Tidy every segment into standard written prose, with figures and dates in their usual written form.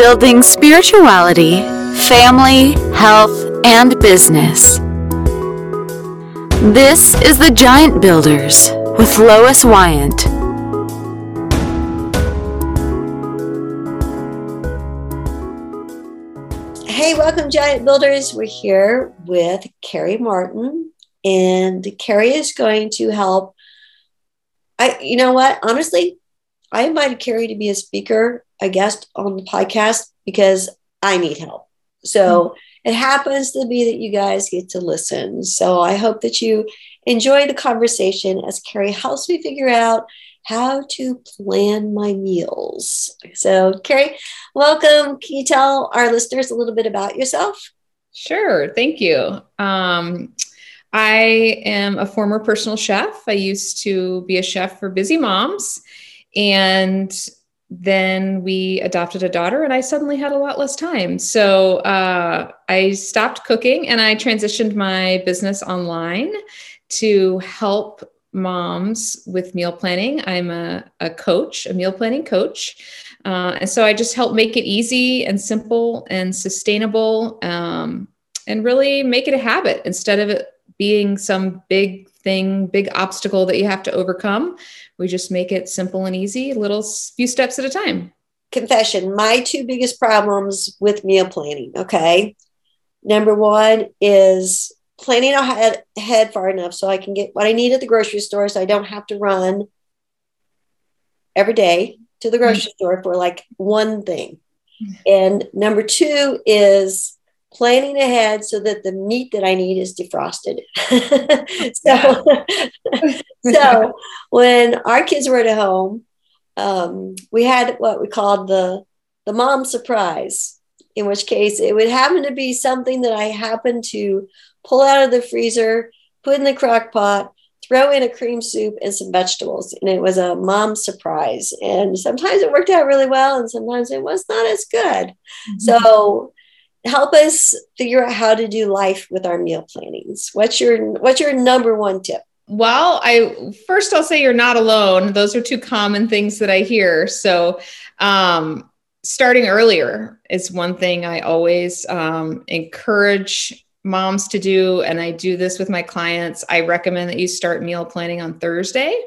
building spirituality, family, health, and business. This is the Giant Builders with Lois Wyant. Hey, welcome, Giant Builders. We're here with Carrie Martin, and Carrie is going to help. You know what? Honestly, I invited Carrie to be a speaker, a guest on the podcast because I need help. So it happens to be that you guys get to listen. So I hope that you enjoy the conversation as Carrie helps me figure out how to plan my meals. So Carrie, welcome. Can you tell our listeners a little bit about yourself? Sure. Thank you. I am a former personal chef. I used to be a chef for Busy Moms, and then we adopted a daughter and I suddenly had a lot less time. So I stopped cooking and I transitioned my business online to help moms with meal planning. I'm a coach, a meal planning coach. And so I just help make it easy and simple and sustainable, and really make it a habit instead of it being some big thing, big obstacle that you have to overcome. We just make it simple and easy, few steps at a time. Confession, my two biggest problems with meal planning, okay? Number one is planning ahead far enough so I can get what I need at the grocery store so I don't have to run every day to the grocery store for like one thing. And number two is planning ahead so that the meat that I need is defrosted. So when our kids were at home, we had what we called the mom surprise, in which case it would happen to be something that I happened to pull out of the freezer, put in the crock pot, throw in a cream soup and some vegetables. And it was a mom surprise. And sometimes it worked out really well and sometimes it was not as good. Mm-hmm. So help us figure out how to do life with our meal plannings. What's your number one tip? Well, I'll say you're not alone. Those are two common things that I hear. So, starting earlier is one thing I always encourage moms to do. And I do this with my clients. I recommend that you start meal planning on Thursday.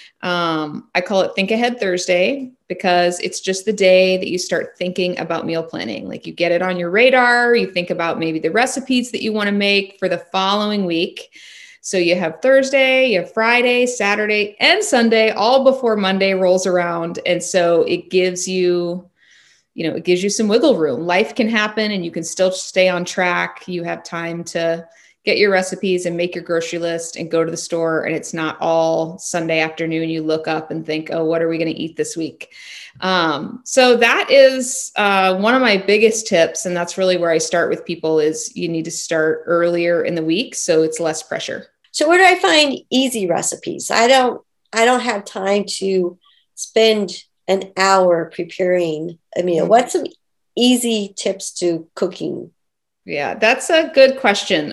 I call it Think Ahead Thursday because it's just the day that you start thinking about meal planning. Like you get it on your radar, you think about maybe the recipes that you want to make for the following week. So you have Thursday, you have Friday, Saturday, and Sunday, all before Monday rolls around. And so it gives you some wiggle room. Life can happen and you can still stay on track. You have time to get your recipes and make your grocery list and go to the store. And it's not all Sunday afternoon. You look up and think, oh, what are we going to eat this week? So that is one of my biggest tips. And that's really where I start with people is you need to start earlier in the week. So it's less pressure. So where do I find easy recipes? I don't have time to spend an hour preparing a meal. What's some easy tips to cooking? Yeah, that's a good question.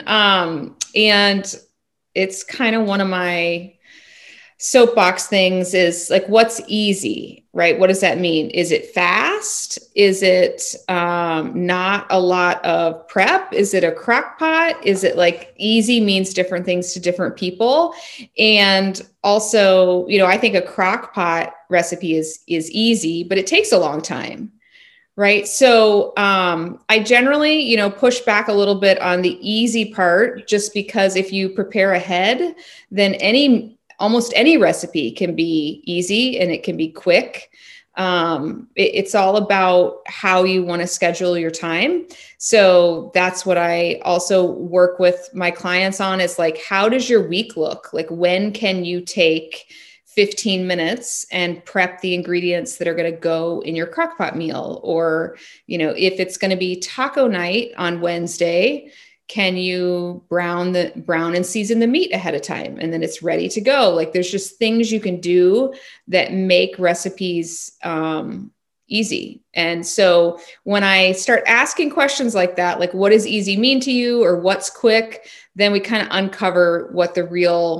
And it's kind of one of my soapbox things is like, what's easy, right? What does that mean? Is it fast? Is it not a lot of prep? Is it a crock pot? Is it like easy means different things to different people? And also, I think a crock pot recipe is easy, but it takes a long time. Right. So I generally, push back a little bit on the easy part, just because if you prepare ahead, then almost any recipe can be easy and it can be quick. It's all about how you want to schedule your time. So that's what I also work with my clients on is like, how does your week look? Like, when can you take 15 minutes and prep the ingredients that are going to go in your crockpot meal? Or, if it's going to be taco night on Wednesday, can you brown and season the meat ahead of time? And then it's ready to go. Like there's just things you can do that make recipes easy. And so when I start asking questions like that, like what does easy mean to you or what's quick, then we kind of uncover what the real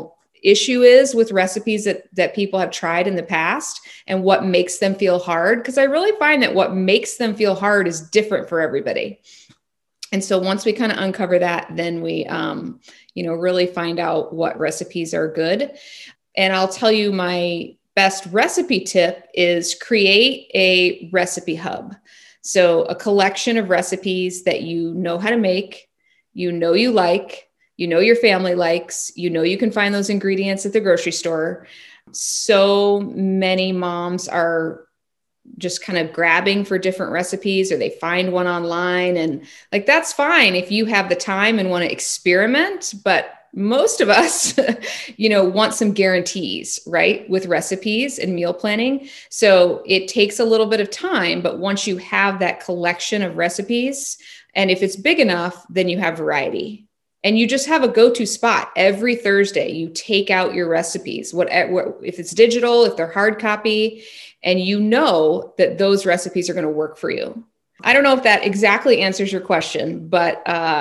issue is with recipes that people have tried in the past and what makes them feel hard. Because I really find that what makes them feel hard is different for everybody. And so once we kind of uncover that, then we, really find out what recipes are good. And I'll tell you, my best recipe tip is create a recipe hub. So a collection of recipes that you know how to make, you like, your family likes, you can find those ingredients at the grocery store. So many moms are just kind of grabbing for different recipes, or they find one online, and like, that's fine if you have the time and want to experiment. But most of us, want some guarantees, right? With recipes and meal planning. So it takes a little bit of time, but once you have that collection of recipes, and if it's big enough, then you have variety. And you just have a go-to spot. Every Thursday, you take out your recipes, if it's digital, if they're hard copy, and you know that those recipes are going to work for you. I don't know if that exactly answers your question, but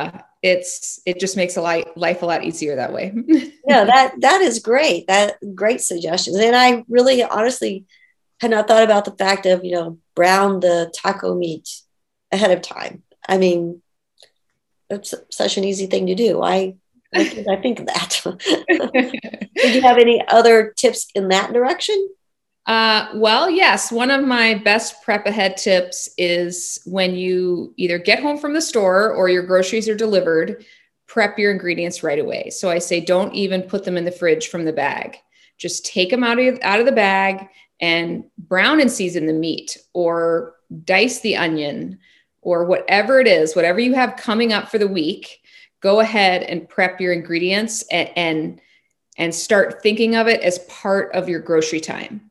it just makes life a lot easier that way. Yeah, that is great. Great suggestions. And I really honestly had not thought about the fact of, brown the taco meat ahead of time. I mean, it's such an easy thing to do. I think of that. Did you have any other tips in that direction? Well, yes. One of my best prep ahead tips is when you either get home from the store or your groceries are delivered, prep your ingredients right away. So I say, don't even put them in the fridge from the bag. Just take them out of the bag and brown and season the meat, or dice the onion, or whatever it is, whatever you have coming up for the week. Go ahead and prep your ingredients and start thinking of it as part of your grocery time.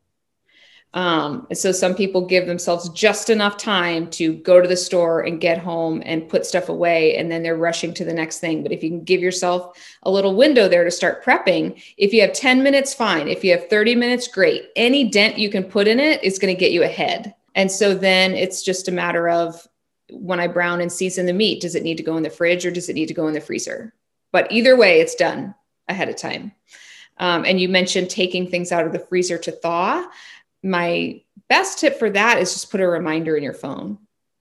So some people give themselves just enough time to go to the store and get home and put stuff away, and then they're rushing to the next thing. But if you can give yourself a little window there to start prepping, if you have 10 minutes, fine. If you have 30 minutes, great. Any dent you can put in it is going to get you ahead. And so then it's just a matter of, when I brown and season the meat, does it need to go in the fridge or does it need to go in the freezer? But either way, it's done ahead of time. And you mentioned taking things out of the freezer to thaw. My best tip for that is just put a reminder in your phone,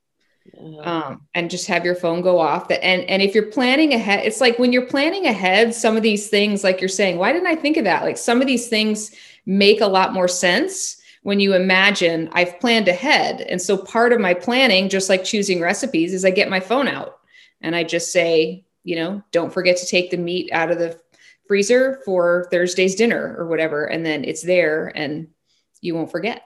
and just have your phone go off. And if you're planning ahead, it's like when you're planning ahead, some of these things, like you're saying, why didn't I think of that? Like, some of these things make a lot more sense when you imagine I've planned ahead. And so part of my planning, just like choosing recipes, is I get my phone out and I just say, don't forget to take the meat out of the freezer for Thursday's dinner or whatever. And then it's there and you won't forget.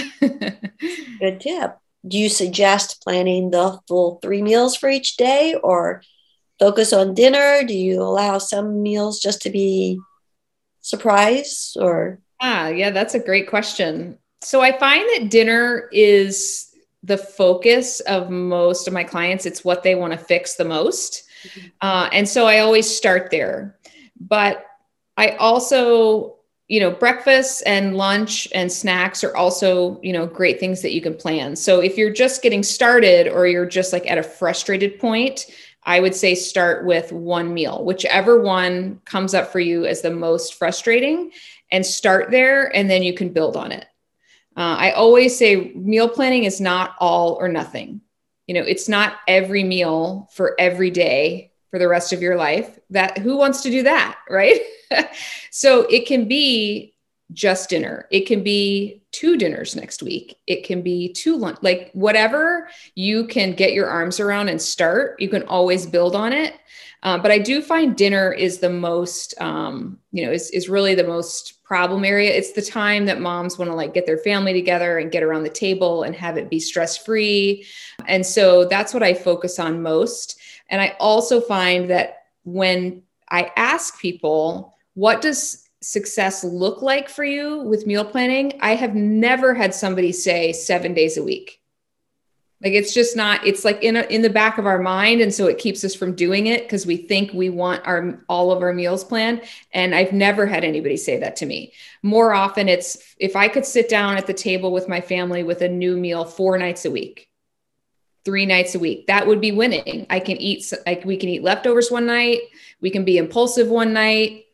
Good tip. Do you suggest planning the full 3 meals for each day, or focus on dinner? Do you allow some meals just to be surprise, or? Yeah, that's a great question. So I find that dinner is the focus of most of my clients. It's what they want to fix the most. And so I always start there. But I also, breakfast and lunch and snacks are also, great things that you can plan. So if you're just getting started, or you're just like at a frustrated point, I would say start with one meal, whichever one comes up for you as the most frustrating, and start there, and then you can build on it. I always say meal planning is not all or nothing. It's not every meal for every day for the rest of your life. Who wants to do that, right? So it can be just dinner. It can be 2 dinners next week. It can be 2 lunch, like whatever you can get your arms around and start, you can always build on it. But I do find dinner is the most, is really the most problem area. It's the time that moms want to like get their family together and get around the table and have it be stress-free. And so that's what I focus on most. And I also find that when I ask people, what does success look like for you with meal planning? I have never had somebody say 7 days a week. Like, it's just not, it's like in the back of our mind. And so it keeps us from doing it because we think we want all of our meals planned. And I've never had anybody say that to me. More often it's, if I could sit down at the table with my family with a new meal 4 nights a week, 3 nights a week, that would be winning. We can eat leftovers one night. We can be impulsive one night.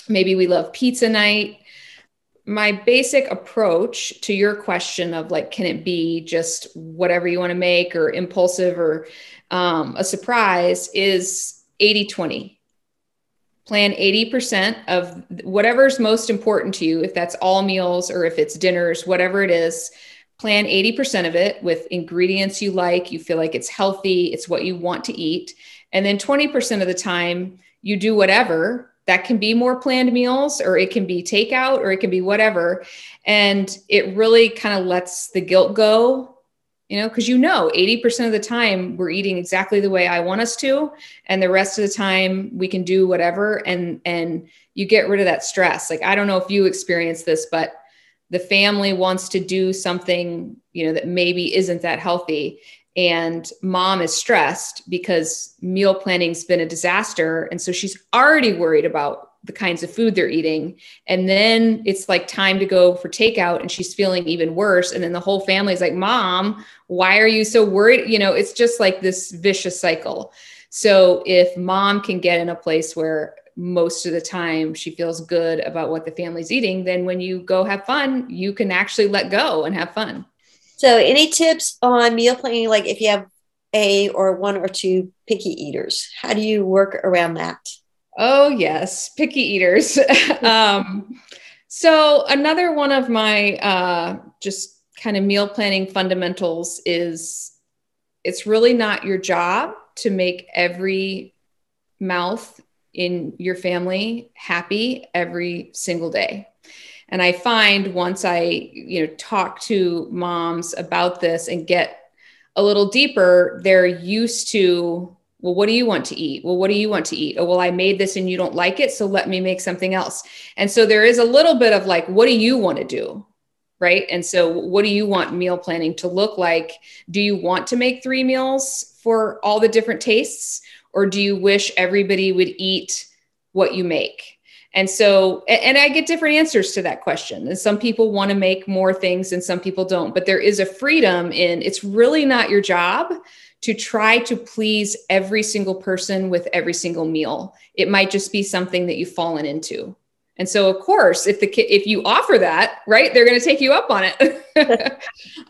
Maybe we love pizza night. My basic approach to your question of like, can it be just whatever you want to make or impulsive or a surprise is 80-20. Plan 80% of whatever's most important to you. If that's all meals or if it's dinners, whatever it is, plan 80% of it with ingredients you like, you feel like it's healthy, it's what you want to eat. And then 20% of the time you do whatever. That can be more planned meals, or it can be takeout, or it can be whatever. And it really kind of lets the guilt go, because 80% of the time we're eating exactly the way I want us to. And the rest of the time we can do whatever. And you get rid of that stress. Like, I don't know if you experience this, but the family wants to do something, that maybe isn't that healthy. And mom is stressed because meal planning's been a disaster. And so she's already worried about the kinds of food they're eating. And then it's like time to go for takeout and she's feeling even worse. And then the whole family is like, Mom, why are you so worried? It's just like this vicious cycle. So if mom can get in a place where most of the time she feels good about what the family's eating, then when you go have fun, you can actually let go and have fun. So any tips on meal planning? Like if you have a or one or two picky eaters, how do you work around that? Oh yes. Picky eaters. So another one of my, just kind of meal planning fundamentals is it's really not your job to make every mouth in your family happy every single day. And I find once I, talk to moms about this and get a little deeper, they're used to, well, what do you want to eat? Well, what do you want to eat? Oh, well, I made this and you don't like it, so let me make something else. And so there is a little bit of like, what do you want to do? Right. And so what do you want meal planning to look like? Do you want to make 3 meals for all the different tastes? Or do you wish everybody would eat what you make? And so, and I get different answers to that question. And some people want to make more things and some people don't, but there is a freedom in, it's really not your job to try to please every single person with every single meal. It might just be something that you've fallen into. And so of course, if you offer that, right, they're going to take you up on it.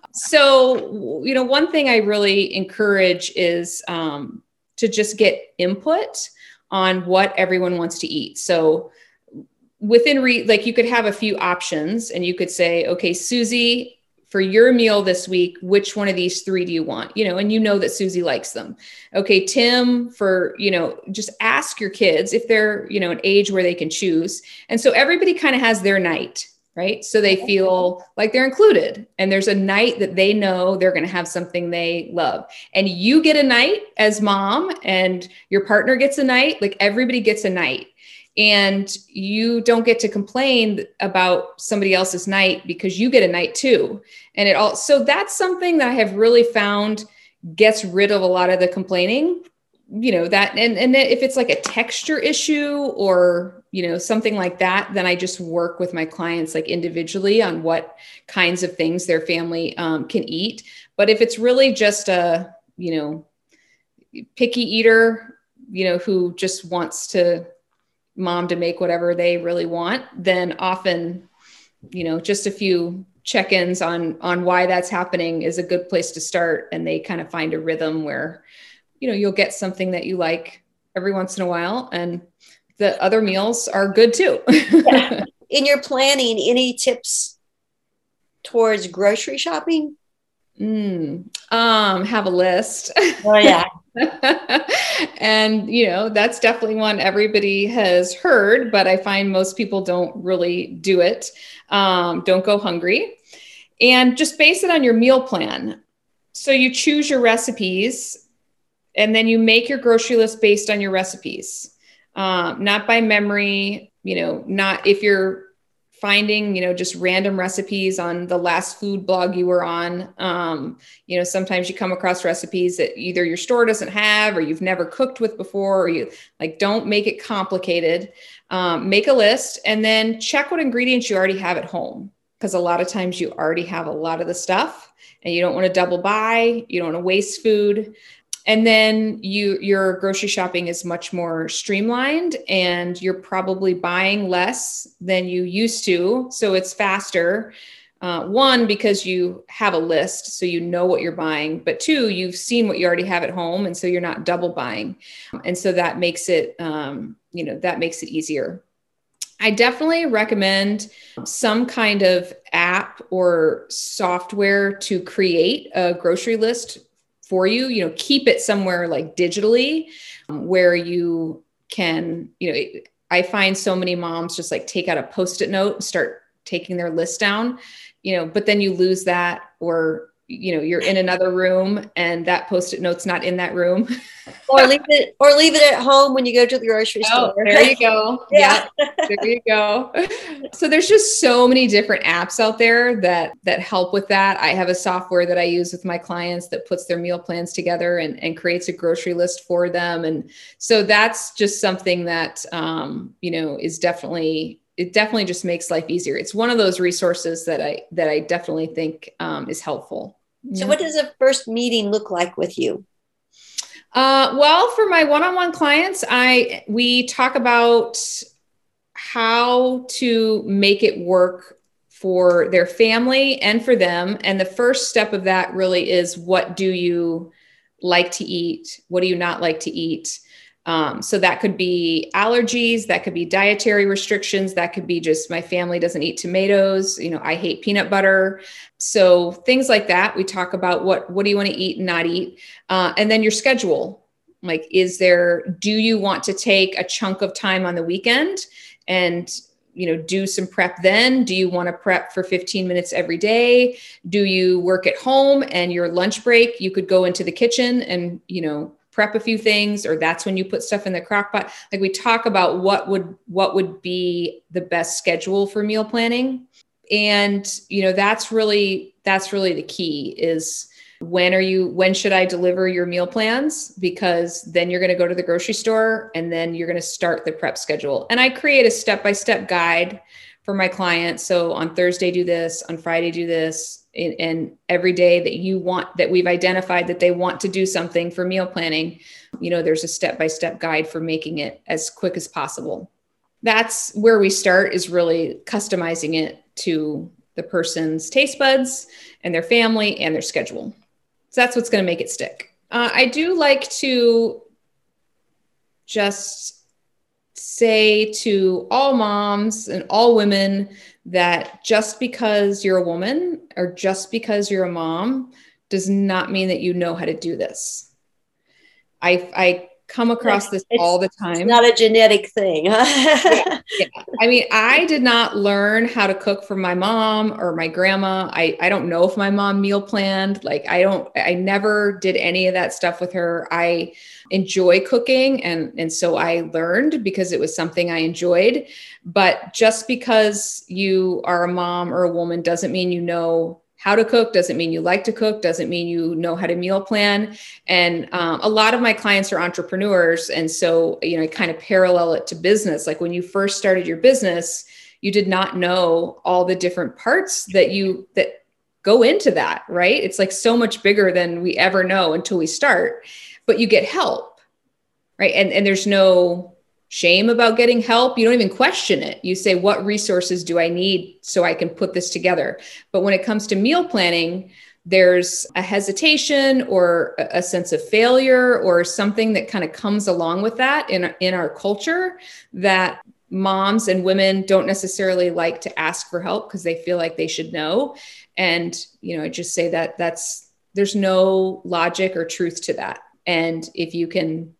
So, one thing I really encourage is to just get input on what everyone wants to eat. So within you could have a few options and you could say, okay, Susie, for your meal this week, which one of these 3 do you want? And that Susie likes them. Okay, Tim, for, just ask your kids if they're, an age where they can choose. And so everybody kind of has their night, right? So they feel like they're included and there's a night that they know they're going to have something they love. And you get a night as mom and your partner gets a night, like everybody gets a night. And you don't get to complain about somebody else's night because you get a night too. And so that's something that I have really found gets rid of a lot of the complaining, that, and if it's like a texture issue or, something like that, then I just work with my clients like individually on what kinds of things their family can eat. But if it's really just a, picky eater, who just wants mom to make whatever they really want, then often, just a few check-ins on why that's happening is a good place to start. And they kind of find a rhythm where, you'll get something that you like every once in a while. And the other meals are good too. Yeah. In your planning, any tips towards grocery shopping? Have a list. Oh yeah. And, that's definitely one everybody has heard, but I find most people don't really do it. Don't go hungry and just base it on your meal plan. So you choose your recipes and then you make your grocery list based on your recipes, not by memory, not if you're finding, just random recipes on the last food blog you were on. Sometimes you come across recipes that either your store doesn't have, or you've never cooked with before, or you don't make it complicated. Make a list and then check what ingredients you already have at home. Because a lot of times you already have a lot of the stuff and you don't want to double buy, you don't want to waste food. And then your grocery shopping is much more streamlined, and you're probably buying less than you used to. So it's faster. One, because you have a list, so you know what you're buying, but two, you've seen what you already have at home. And so you're not double buying. And so that makes it, that makes it easier. I definitely recommend some kind of app or software to create a grocery list for you. Keep it somewhere like digitally, where you can, I find so many moms just like take out a Post-it note and start taking their list down, but then you lose that, or you're in another room and that Post-it note's not in that room. or leave it at home when you go to the grocery store. There you go. Yeah. There you go. So there's just so many different apps out there that help with that. I have a software that I use with my clients that puts their meal plans together and creates a grocery list for them. And so that's just something that, is definitely, it definitely just makes life easier. It's one of those resources that I definitely think is helpful. So what does a first meeting look like with you? Well, for my one-on-one clients, we talk about how to make it work for their family and for them. And the first step of that really is, what do you like to eat? What do you not like to eat? So that could be allergies, that could be dietary restrictions, that could be just my family doesn't eat tomatoes, I hate peanut butter. So things like that. We talk about what do you want to eat and not eat? And then your schedule. Like, do you want to take a chunk of time on the weekend and, do some prep then? Do you want to prep for 15 minutes every day? Do you work at home and your lunch break, you could go into the kitchen and, prep a few things, or that's when you put stuff in the crock pot? Like, we talk about what would be the best schedule for meal planning. And, that's really the key is, when should I deliver your meal plans? Because then you're going to go to the grocery store and then you're going to start the prep schedule. And I create a step-by-step guide for my clients. So on Thursday, do this, on Friday, do this. And every day that we've identified that they want to do something for meal planning, there's a step-by-step guide for making it as quick as possible. That's where we start, is really customizing it to the person's taste buds and their family and their schedule. So that's what's going to make it stick. I do like to just say to all moms and all women that just because you're a woman or just because you're a mom does not mean that you know how to do this. I come across this all the time. It's not a genetic thing. Yeah. I mean, I did not learn how to cook from my mom or my grandma. I don't know if my mom meal planned. Like, I never did any of that stuff with her. I enjoy cooking. And so I learned because it was something I enjoyed. But just because you are a mom or a woman doesn't mean you know how to cook, doesn't mean you like to cook, doesn't mean you know how to meal plan. And a lot of my clients are entrepreneurs. And so, I kind of parallel it to business. Like, when you first started your business, you did not know all the different parts that go into that, right? It's like so much bigger than we ever know until we start, but you get help, right? And there's no shame about getting help. You don't even question it. You say, what resources do I need so I can put this together? But when it comes to meal planning, there's a hesitation or a sense of failure or something that kind of comes along with that in our culture, that moms and women don't necessarily like to ask for help because they feel like they should know. And, I just say that there's no logic or truth to that. And if you can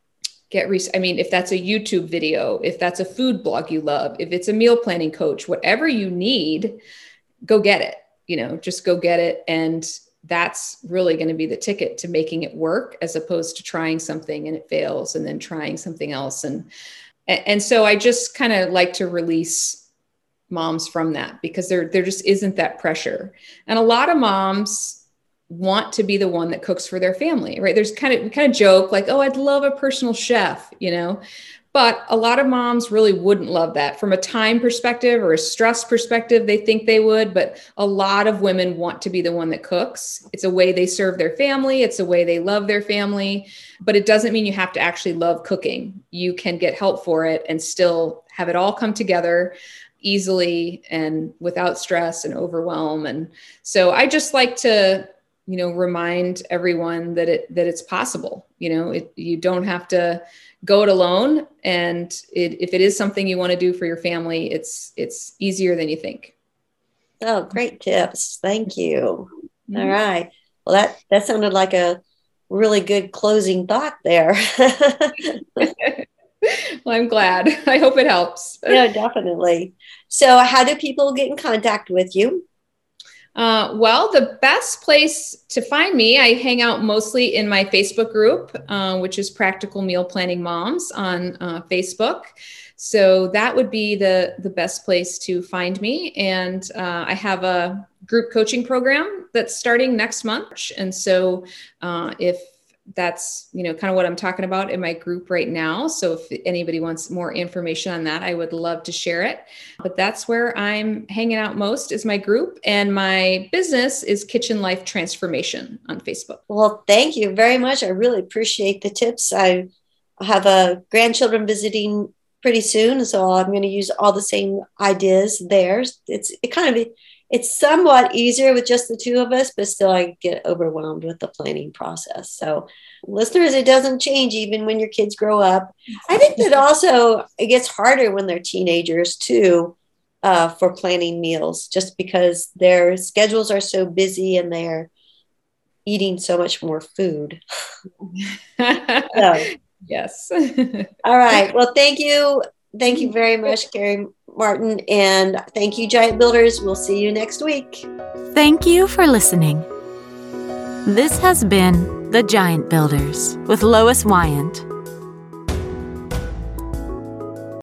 if that's a YouTube video, if that's a food blog you love, if it's a meal planning coach, whatever you need, go get it, just go get it. And that's really going to be the ticket to making it work, as opposed to trying something and it fails and then trying something else. And so I just kind of like to release moms from that, because there just isn't that pressure. And a lot of moms want to be the one that cooks for their family, right? We kind of joke like, oh, I'd love a personal chef, But a lot of moms really wouldn't love that from a time perspective or a stress perspective. They think they would, but a lot of women want to be the one that cooks. It's a way they serve their family. It's a way they love their family, but it doesn't mean you have to actually love cooking. You can get help for it and still have it all come together easily and without stress and overwhelm. And so I just like to, remind everyone that it's possible. You don't have to go it alone. And if it is something you want to do for your family, it's easier than you think. Oh, great tips. Thank you. Mm-hmm. All right. Well, that sounded like a really good closing thought there. Well, I'm glad. I hope it helps. Yeah, definitely. So how do people get in contact with you? Well, the best place to find me, I hang out mostly in my Facebook group, which is Practical Meal Planning Moms on Facebook. So that would be the best place to find me. And I have a group coaching program that's starting next month. And so if that's, kind of what I'm talking about in my group right now. So if anybody wants more information on that, I would love to share it. But that's where I'm hanging out most is my group. And my business is Kitchen Life Transformation on Facebook. Well, thank you very much. I really appreciate the tips. I have grandchildren visiting pretty soon, so I'm going to use all the same ideas there. It's somewhat easier with just the two of us, but still I get overwhelmed with the planning process. So listeners, it doesn't change even when your kids grow up. I think that also it gets harder when they're teenagers too, for planning meals, just because their schedules are so busy and they're eating so much more food. So, yes. All right. Well, thank you. Thank you very much, Carrie Martin. And thank you, Giant Builders. We'll see you next week. Thank you for listening. This has been The Giant Builders with Lois Wyant.